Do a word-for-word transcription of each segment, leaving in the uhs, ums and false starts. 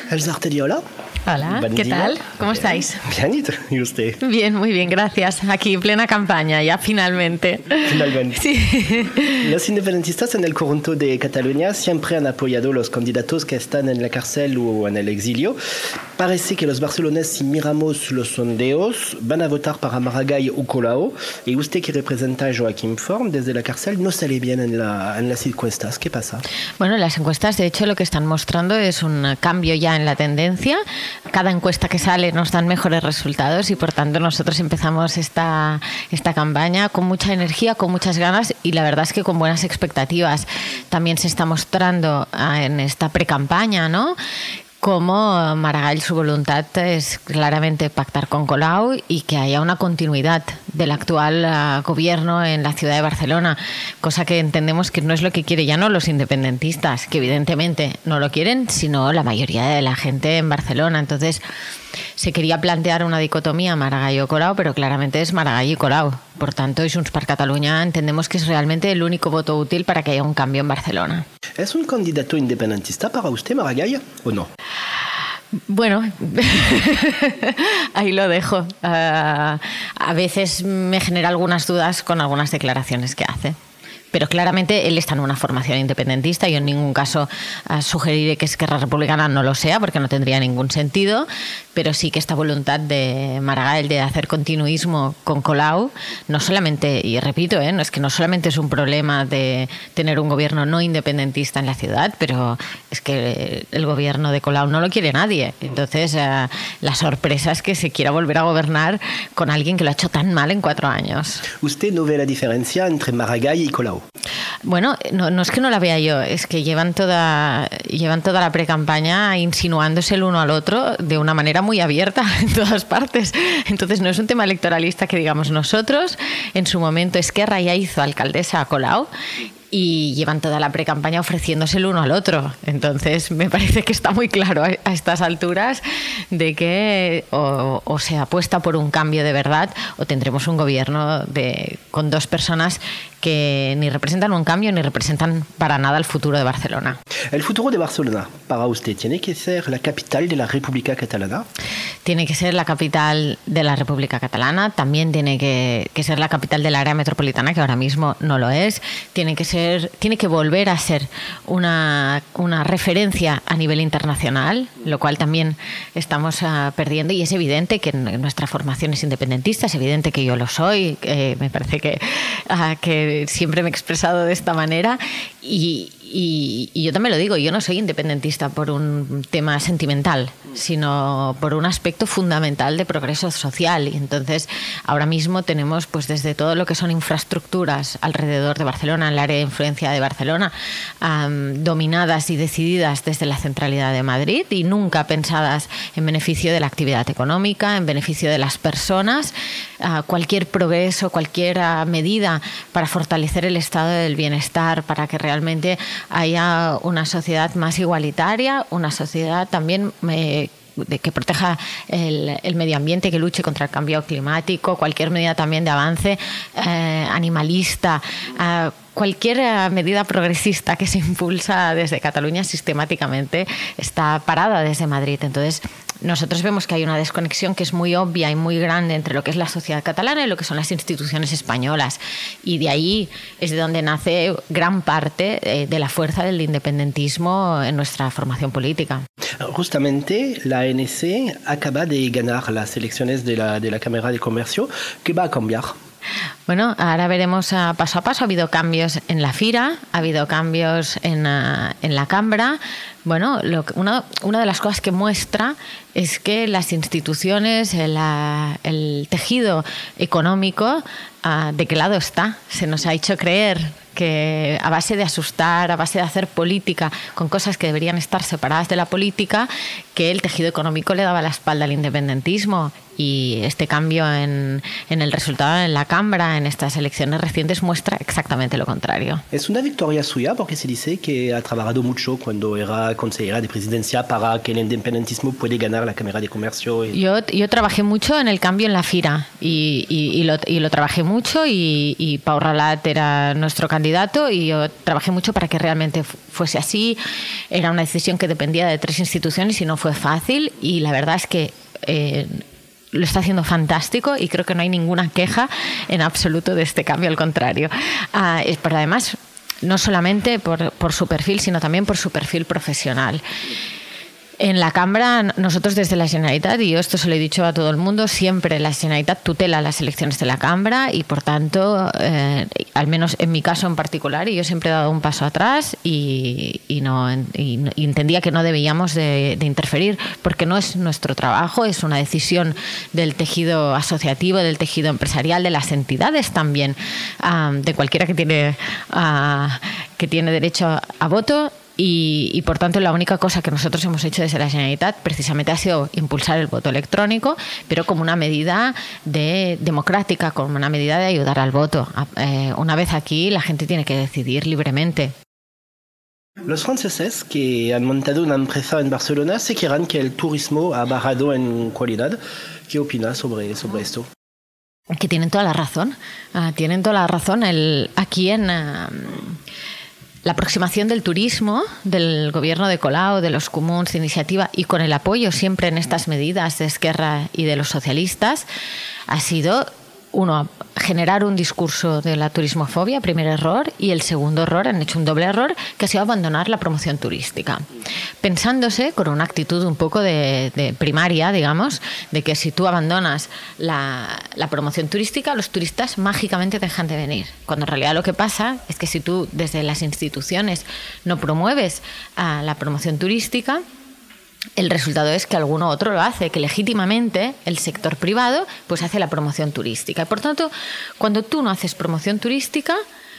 Elsa Artedi, hola. Hola, Buen ¿qué día. tal? ¿Cómo Bien. estáis? Bien, ¿y usted? Bien, muy bien, gracias. Aquí, plena campaña, ya finalmente. Finalmente. Sí. Los independentistas en el conjunto de Cataluña siempre han apoyado los candidatos que están en la cárcel o en el exilio. Parece que los barceloneses, si miramos los sondeos, van a votar para Maragall o Colau. Y usted, que representa a Joaquim Forn desde la cárcel, no sale bien en, la, en las encuestas. ¿Qué pasa? Bueno, las encuestas, de hecho, lo que están mostrando es un cambio ya en la tendencia. Cada encuesta que sale nos dan mejores resultados y, por tanto, nosotros empezamos esta, esta campaña con mucha energía, con muchas ganas y la verdad es que con buenas expectativas. También se está mostrando en esta precampaña, ¿no?, como Maragall, su voluntad es claramente pactar con Colau y que haya una continuidad del actual uh, gobierno en la ciudad de Barcelona, cosa que entendemos que no es lo que quiere ya no los independentistas, que evidentemente no lo quieren, sino la mayoría de la gente en Barcelona. Entonces se quería plantear una dicotomía Maragall o Colau, pero claramente es Maragall y Colau. Por tanto, y Junts per Catalunya entendemos que es realmente el único voto útil para que haya un cambio en Barcelona. ¿Es un candidato independentista para usted, Maragall, o no? Bueno, ahí lo dejo. Uh, a veces me genera algunas dudas con algunas declaraciones que hace. Pero claramente él está en una formación independentista. Yo en ningún caso uh, sugeriré que Esquerra Republicana no lo sea, porque no tendría ningún sentido, pero sí que esta voluntad de Maragall de hacer continuismo con Colau, no solamente, y repito, ¿eh? no es que no solamente es un problema de tener un gobierno no independentista en la ciudad, pero es que el gobierno de Colau no lo quiere nadie. Entonces, uh, la sorpresa es que se quiera volver a gobernar con alguien que lo ha hecho tan mal en cuatro años. ¿Usted no ve la diferencia entre Maragall y Colau? Bueno, no, no es que no la vea yo, es que llevan toda, llevan toda la precampaña insinuándose el uno al otro de una manera muy abierta en todas partes. Entonces no es un tema electoralista que digamos nosotros. En su momento Esquerra ya hizo alcaldesa a Colau y llevan toda la precampaña ofreciéndose el uno al otro. Entonces me parece que está muy claro a, a estas alturas de que o, o se apuesta por un cambio de verdad o tendremos un gobierno de, con dos personas que ni representan un cambio ni representan para nada el futuro de Barcelona. ¿El futuro de Barcelona, para usted, tiene que ser la capital de la República Catalana? Tiene que ser la capital de la República Catalana, también tiene que, que ser la capital del área metropolitana, que ahora mismo no lo es. Tiene que ser, tiene que volver a ser una, una referencia a nivel internacional, lo cual también estamos uh, perdiendo, y es evidente que en nuestra formación es independentista, es evidente que yo lo soy, eh, me parece que, uh, que siempre me he expresado de esta manera y, y, y yo también lo digo, yo no soy independentista por un tema sentimental, sino por un aspecto fundamental de progreso social. Y entonces ahora mismo tenemos pues desde todo lo que son infraestructuras alrededor de Barcelona, en el área de influencia de Barcelona, um, dominadas y decididas desde la centralidad de Madrid y nunca pensadas en beneficio de la actividad económica, en beneficio de las personas. Uh, cualquier progreso, cualquier uh, medida para fortalecer el estado del bienestar, para que realmente haya una sociedad más igualitaria, una sociedad también eh, de que proteja el, el medio ambiente, que luche contra el cambio climático, cualquier medida también de avance eh, animalista, eh, cualquier medida progresista que se impulsa desde Cataluña sistemáticamente está parada desde Madrid. Entonces, nosotros vemos que hay una desconexión que es muy obvia y muy grande entre lo que es la sociedad catalana y lo que son las instituciones españolas. Y de ahí es de donde nace gran parte de la fuerza del independentismo en nuestra formación política. Justamente la A N C acaba de ganar las elecciones de la, de la Cámara de Comercio. ¿Qué va a cambiar? Bueno, ahora veremos uh, paso a paso. Ha habido cambios en la Fira, ha habido cambios en, uh, en la Cambra. Bueno, lo, una, una de las cosas que muestra es que las instituciones, el, uh, el tejido económico, uh, ¿de qué lado está? Se nos ha hecho creer que a base de asustar, a base de hacer política con cosas que deberían estar separadas de la política, que el tejido económico le daba la espalda al independentismo. Y este cambio en, en el resultado en la Cámara, en estas elecciones recientes, muestra exactamente lo contrario. Es una victoria suya porque se dice que ha trabajado mucho cuando era consejera de presidencia para que el independentismo puede ganar la Cámara de Comercio. Y... Yo, yo trabajé mucho en el cambio en la Fira y, y, y, lo, y lo trabajé mucho y, y Pau Ralat era nuestro candidato y yo trabajé mucho para que realmente fuese así. Era una decisión que dependía de tres instituciones y no fue fue fácil y la verdad es que eh, lo está haciendo fantástico y creo que no hay ninguna queja en absoluto de este cambio, al contrario. Uh, es, pero además, no solamente por, por su perfil, sino también por su perfil profesional. En la Cambra, nosotros desde la Generalitat, y yo esto se lo he dicho a todo el mundo, siempre la Generalitat tutela las elecciones de la Cambra y, por tanto, eh, al menos en mi caso en particular, y yo siempre he dado un paso atrás y, y, no, y, y entendía que no debíamos de, de interferir porque no es nuestro trabajo, es una decisión del tejido asociativo, del tejido empresarial, de las entidades también, um, de cualquiera que tiene, uh, que tiene derecho a, a voto. Y, y, por tanto, la única cosa que nosotros hemos hecho desde la Generalitat precisamente ha sido impulsar el voto electrónico, pero como una medida de, democrática, como una medida de ayudar al voto. Eh, una vez aquí, la gente tiene que decidir libremente. Los franceses que han montado una empresa en Barcelona se quejan que el turismo ha bajado en calidad. ¿Qué opinas sobre, sobre esto? Que tienen toda la razón. Uh, tienen toda la razón. El, aquí en... Uh, La aproximación del turismo, del gobierno de Colau, de los comuns, de Iniciativa, y con el apoyo siempre en estas medidas de Esquerra y de los socialistas, ha sido, uno, generar un discurso de la turismofobia, primer error, y el segundo error, han hecho un doble error, que ha sido abandonar la promoción turística. Pensándose con una actitud un poco de, de primaria, digamos, de que si tú abandonas la, la promoción turística, los turistas mágicamente dejan de venir. Cuando en realidad lo que pasa es que si tú desde las instituciones no promueves uh, la promoción turística, el resultado es que alguno otro lo hace, que legítimamente el sector privado pues hace la promoción turística. Y por tanto, cuando tú no haces promoción turística,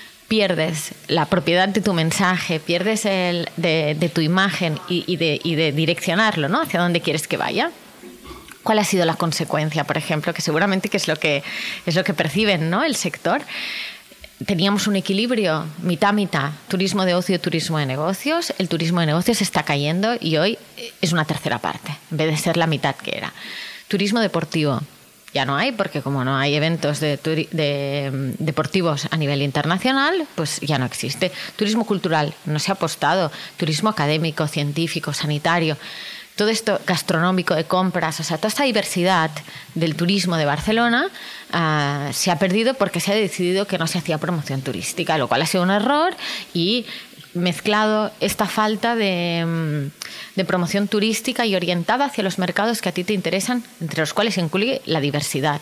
pierdes la propiedad de tu mensaje, pierdes el de, de tu imagen y, y, de, y de direccionarlo, ¿no?, hacia dónde quieres que vaya. ¿Cuál ha sido la consecuencia, por ejemplo? Que seguramente que es lo que, es lo que perciben, ¿no?, el sector. Teníamos un equilibrio mitad-mitad, turismo de ocio y turismo de negocios. El turismo de negocios está cayendo y hoy es una tercera parte, en vez de ser la mitad que era. Turismo deportivo ya no hay, porque como no hay eventos de, de, deportivos a nivel internacional, pues ya no existe. Turismo cultural, no se ha apostado. Turismo académico, científico, sanitario. Todo esto gastronómico, de compras, o sea, toda esta diversidad del turismo de Barcelona uh, se ha perdido porque se ha decidido que no se hacía promoción turística, lo cual ha sido un error y mezclado esta falta de, de promoción turística y orientada hacia los mercados que a ti te interesan, entre los cuales se incluye la diversidad.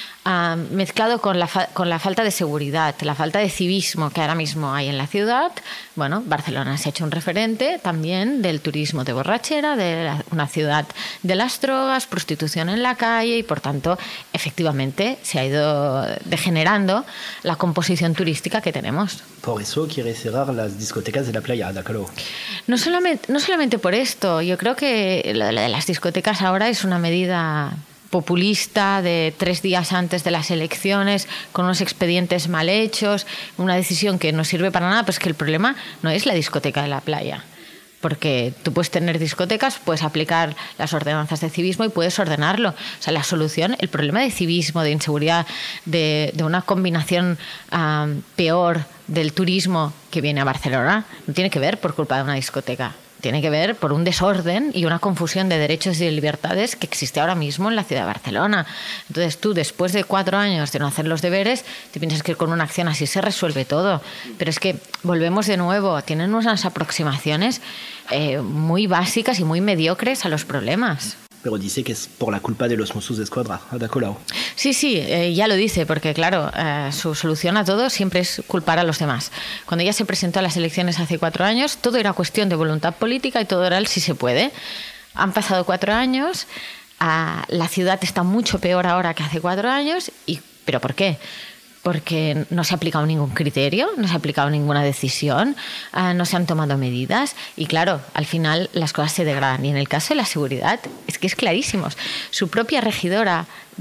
Uh, mezclado con la, fa- con la falta de seguridad, la falta de civismo que ahora mismo hay en la ciudad. Bueno, Barcelona se ha hecho un referente también del turismo de borrachera, de la, una ciudad de las drogas, prostitución en la calle y, por tanto, efectivamente se ha ido degenerando la composición turística que tenemos. Por eso quiere cerrar las discotecas de la playa, ¿de acuerdo? No solamente, no solamente por esto. Yo creo que la, la de las discotecas ahora es una medida populista de tres días antes de las elecciones, con unos expedientes mal hechos, una decisión que no sirve para nada, pues que el problema no es la discoteca de la playa. Porque tú puedes tener discotecas, puedes aplicar las ordenanzas de civismo y puedes ordenarlo. O sea, la solución, el problema de civismo, de inseguridad, de, de una combinación um, peor del turismo que viene a Barcelona, no tiene que ver por culpa de una discoteca. Tiene que ver por un desorden y una confusión de derechos y de libertades que existe ahora mismo en la ciudad de Barcelona. Entonces tú, después de cuatro años de no hacer los deberes, te piensas que con una acción así se resuelve todo. Pero es que volvemos de nuevo, tienen unas aproximaciones eh, muy básicas y muy mediocres a los problemas. Pero dice que es por la culpa de los Mossos d'Esquadra, ¿de acuerdo? Sí, sí, eh, ya lo dice, porque claro, eh, su solución a todo siempre es culpar a los demás. Cuando ella se presentó a las elecciones hace cuatro años, todo era cuestión de voluntad política y todo era el si se puede. Han pasado cuatro años, eh, la ciudad está mucho peor ahora que hace cuatro años, y, ¿pero por qué? Porque no se ha aplicado ningún criterio, no se ha aplicado ninguna decisión, uh, no se han tomado medidas y claro, al final las cosas se degradan. Y en el caso de la seguridad es que es clarísimo. Su propia regidora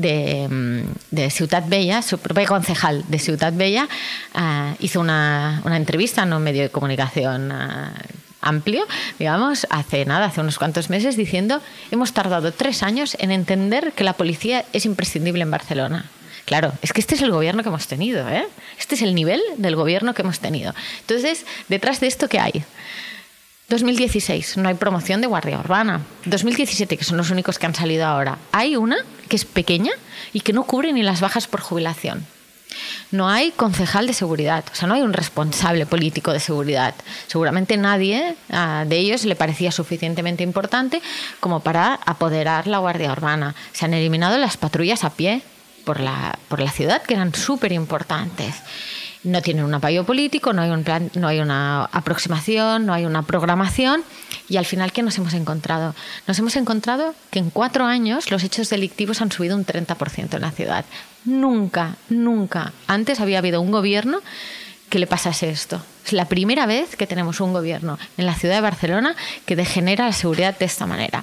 de, de Ciutat Vella, su propia concejal de Ciutat Vella, uh, hizo una, una entrevista en un medio de comunicación uh, amplio, digamos, hace nada, hace unos cuantos meses, diciendo: hemos tardado tres años en entender que la policía es imprescindible en Barcelona. Claro, es que este es el gobierno que hemos tenido, ¿eh? Este es el nivel del gobierno que hemos tenido. Entonces, detrás de esto, ¿qué hay? dos mil dieciséis, no hay promoción de guardia urbana. dos mil diecisiete, que son los únicos que han salido ahora, hay una que es pequeña y que no cubre ni las bajas por jubilación. No hay concejal de seguridad, o sea, no hay un responsable político de seguridad. Seguramente nadie uh, de ellos le parecía suficientemente importante como para apoderar la guardia urbana. Se han eliminado las patrullas a pie por la, por la ciudad, que eran súper importantes. No tienen un apoyo político, no hay, un plan, no hay una aproximación, no hay una programación. Y al final, ¿qué nos hemos encontrado? Nos hemos encontrado que en cuatro años los hechos delictivos han subido un treinta por ciento en la ciudad. Nunca, nunca antes había habido un gobierno que le pasase esto. Es la primera vez que tenemos un gobierno en la ciudad de Barcelona que degenera la seguridad de esta manera.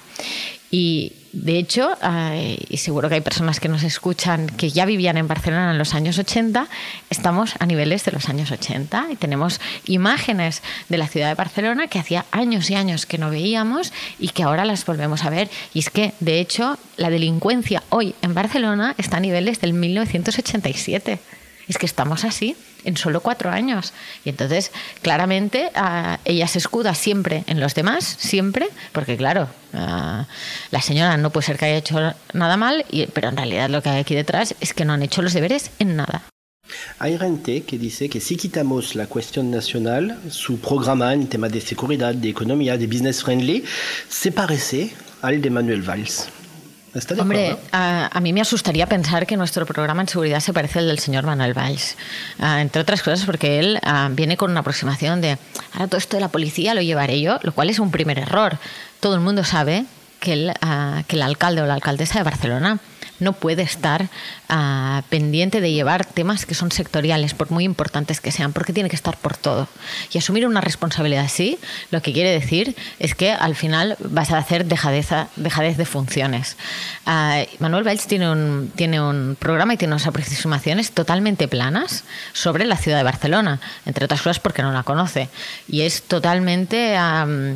Y de hecho, eh, y seguro que hay personas que nos escuchan que ya vivían en Barcelona en los años ochenta, estamos a niveles de los años ochenta y tenemos imágenes de la ciudad de Barcelona que hacía años y años que no veíamos y que ahora las volvemos a ver. Y es que, de hecho, la delincuencia hoy en Barcelona está a niveles del mil novecientos ochenta y siete. Es que estamos así en solo cuatro años. Y entonces, claramente, uh, ella se escuda siempre en los demás, siempre, porque claro, uh, la señora no puede ser que haya hecho nada mal, y, pero en realidad lo que hay aquí detrás es que no han hecho los deberes en nada. Hay gente que dice que si quitamos la cuestión nacional, su programa en temas de seguridad, de economía, de business friendly, se parece al de Manuel Valls. ¿Está de Hombre, acuerdo? a, a mí me asustaría pensar que nuestro programa en seguridad se parece al del señor Manuel Valls. Uh, entre otras cosas porque él uh, viene con una aproximación de ahora todo esto de la policía lo llevaré yo, lo cual es un primer error. Todo el mundo sabe que el, uh, que el alcalde o la alcaldesa de Barcelona no puede estar uh, pendiente de llevar temas que son sectoriales, por muy importantes que sean, porque tiene que estar por todo. Y asumir una responsabilidad así, lo que quiere decir es que al final vas a hacer dejadez, dejadez de funciones. Uh, Manuel Valls tiene un, tiene un programa y tiene unas aproximaciones totalmente planas sobre la ciudad de Barcelona, entre otras cosas porque no la conoce. Y es totalmente... Um,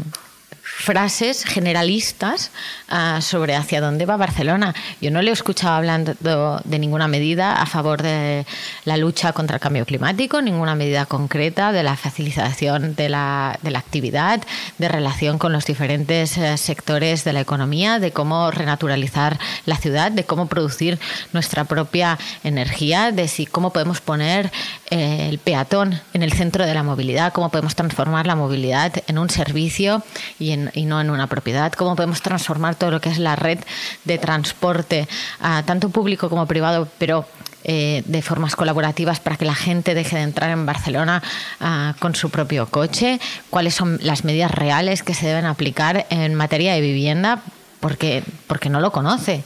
frases generalistas uh, sobre hacia dónde va Barcelona. Yo no le he escuchado hablando de ninguna medida a favor de la lucha contra el cambio climático, ninguna medida concreta de la facilitación de la, de la actividad, de relación con los diferentes uh, sectores de la economía, de cómo renaturalizar la ciudad, de cómo producir nuestra propia energía, de si cómo podemos poner eh, el peatón en el centro de la movilidad, cómo podemos transformar la movilidad en un servicio y en y no en una propiedad, cómo podemos transformar todo lo que es la red de transporte, uh, tanto público como privado, pero eh, de formas colaborativas para que la gente deje de entrar en Barcelona uh, con su propio coche, cuáles son las medidas reales que se deben aplicar en materia de vivienda, porque, porque no lo conoce.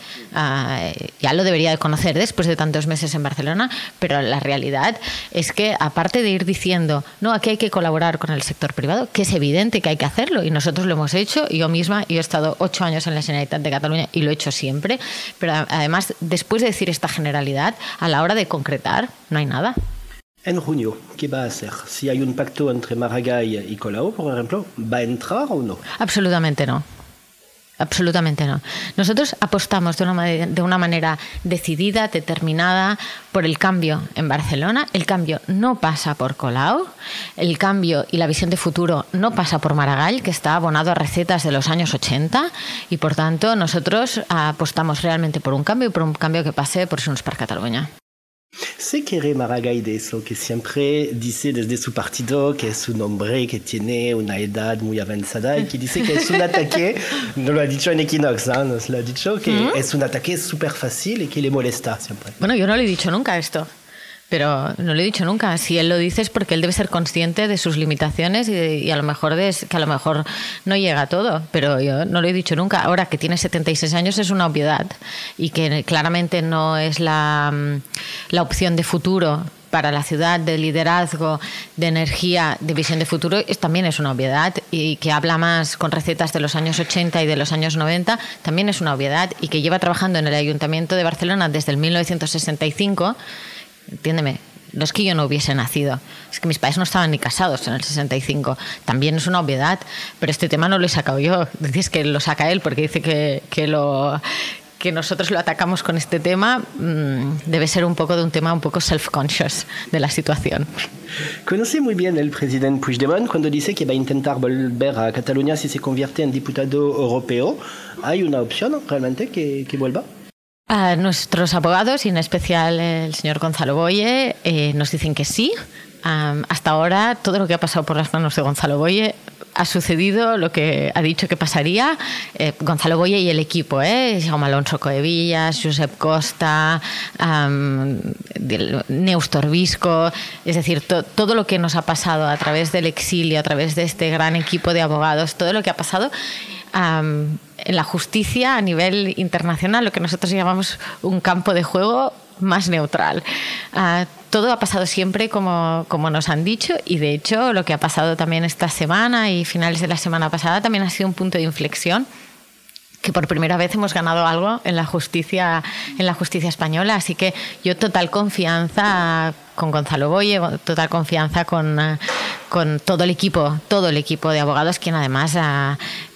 Uh, ya lo debería de conocer después de tantos meses en Barcelona, pero la realidad es que, aparte de ir diciendo, no, aquí hay que colaborar con el sector privado, que es evidente que hay que hacerlo, y nosotros lo hemos hecho, yo misma, yo he estado ocho años en la Generalitat de Cataluña y lo he hecho siempre, pero además, después de decir esta generalidad, a la hora de concretar, no hay nada. En junio, ¿qué va a hacer? Si hay un pacto entre Maragall y Colau, por ejemplo, ¿va a entrar o no? Absolutamente no. Absolutamente no. Nosotros apostamos de una, de una manera decidida, determinada, por el cambio en Barcelona. El cambio no pasa por Colau, el cambio y la visión de futuro no pasa por Maragall, que está abonado a recetas de los años ochenta, y por tanto nosotros apostamos realmente por un cambio y por un cambio que pase por Junts per Catalunya. ¿Se quiere Maragall de eso? Que siempre dice desde su partido que es un hombre que tiene una edad muy avanzada y que dice que es un ataque, no lo ha dicho en Equinox, ¿eh? Nos lo ha dicho, que ¿Mm? es un ataque súper fácil y que le molesta siempre. Bueno, yo no le he dicho nunca esto. Pero no lo he dicho nunca. Si él lo dice es porque él debe ser consciente de sus limitaciones y, de, y a lo mejor de, que a lo mejor no llega a todo. Pero yo no lo he dicho nunca. Ahora que tiene setenta y seis años es una obviedad y que claramente no es la, la opción de futuro para la ciudad, de liderazgo, de energía, de visión de futuro, es, también es una obviedad, y que habla más con recetas de los años ochenta y de los años noventa, también es una obviedad, y que lleva trabajando en el Ayuntamiento de Barcelona desde el mil novecientos sesenta y cinco. Entiéndeme, no es que yo no hubiese nacido, es que mis padres no estaban ni casados en el sesenta y cinco. También es una obviedad, pero este tema no lo he sacado yo. Dices que lo saca él porque dice que, que, lo, que nosotros lo atacamos con este tema mmm, debe ser un poco de un tema un poco self-conscious de la situación. Conoce muy bien el presidente Puigdemont cuando dice que va a intentar volver a Cataluña si se convierte en diputado europeo. ¿Hay una opción realmente que, que vuelva? A nuestros abogados, y en especial el señor Gonzalo Boye, eh, nos dicen que sí. Um, hasta ahora, todo lo que ha pasado por las manos de Gonzalo Boye ha sucedido lo que ha dicho que pasaría. eh, Gonzalo Boye y el equipo, ¿eh? Jaume Alonso Coevillas, Josep Costa, um, Neus Torbisco, es decir, to, todo lo que nos ha pasado a través del exilio, a través de este gran equipo de abogados, todo lo que ha pasado um, en la justicia a nivel internacional, lo que nosotros llamamos un campo de juego más neutral. Uh, todo ha pasado siempre como, como nos han dicho, y de hecho lo que ha pasado también esta semana y finales de la semana pasada también ha sido un punto de inflexión, que por primera vez hemos ganado algo en la justicia, en la justicia española. Así que yo total confianza con Gonzalo Boye, total confianza con, con todo el equipo, todo el equipo de abogados, quien además uh,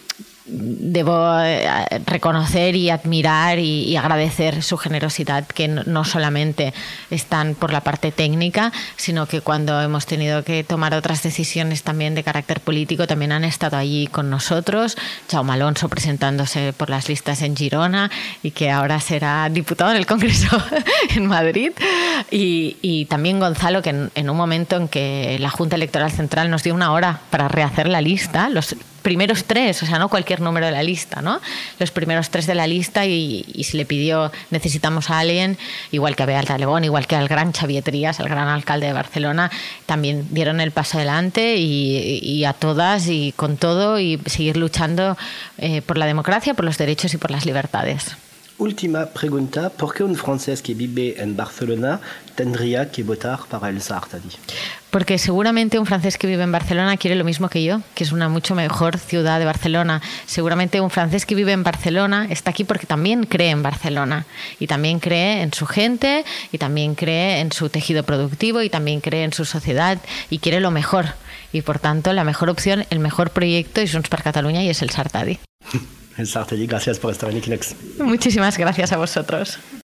debo reconocer y admirar y, y agradecer su generosidad, que no solamente están por la parte técnica, sino que cuando hemos tenido que tomar otras decisiones también de carácter político, también han estado allí con nosotros. Jaume Alonso presentándose por las listas en Girona y que ahora será diputado en el Congreso en Madrid. Y, y también Gonzalo, que en, en un momento en que la Junta Electoral Central nos dio una hora para rehacer la lista, los primeros tres, o sea, no cualquier número de la lista, ¿no? Los primeros tres de la lista, y, y se le pidió, necesitamos a alguien, igual que a Beat Alegón, igual que al gran Xavier Trias, al gran alcalde de Barcelona, también dieron el paso adelante, y, y a todas y con todo, y seguir luchando eh, por la democracia, por los derechos y por las libertades. Última pregunta, ¿por qué un francés que vive en Barcelona tendría que votar para el Sartadi? Porque seguramente un francés que vive en Barcelona quiere lo mismo que yo, que es una mucho mejor ciudad de Barcelona. Seguramente un francés que vive en Barcelona está aquí porque también cree en Barcelona, y también cree en su gente, y también cree en su tejido productivo, y también cree en su sociedad, y quiere lo mejor. Y por tanto, la mejor opción, el mejor proyecto es Junts per Catalunya, y es el Sartadi. El Sartadi, gracias por estar en Equinox. Muchísimas gracias a vosotros.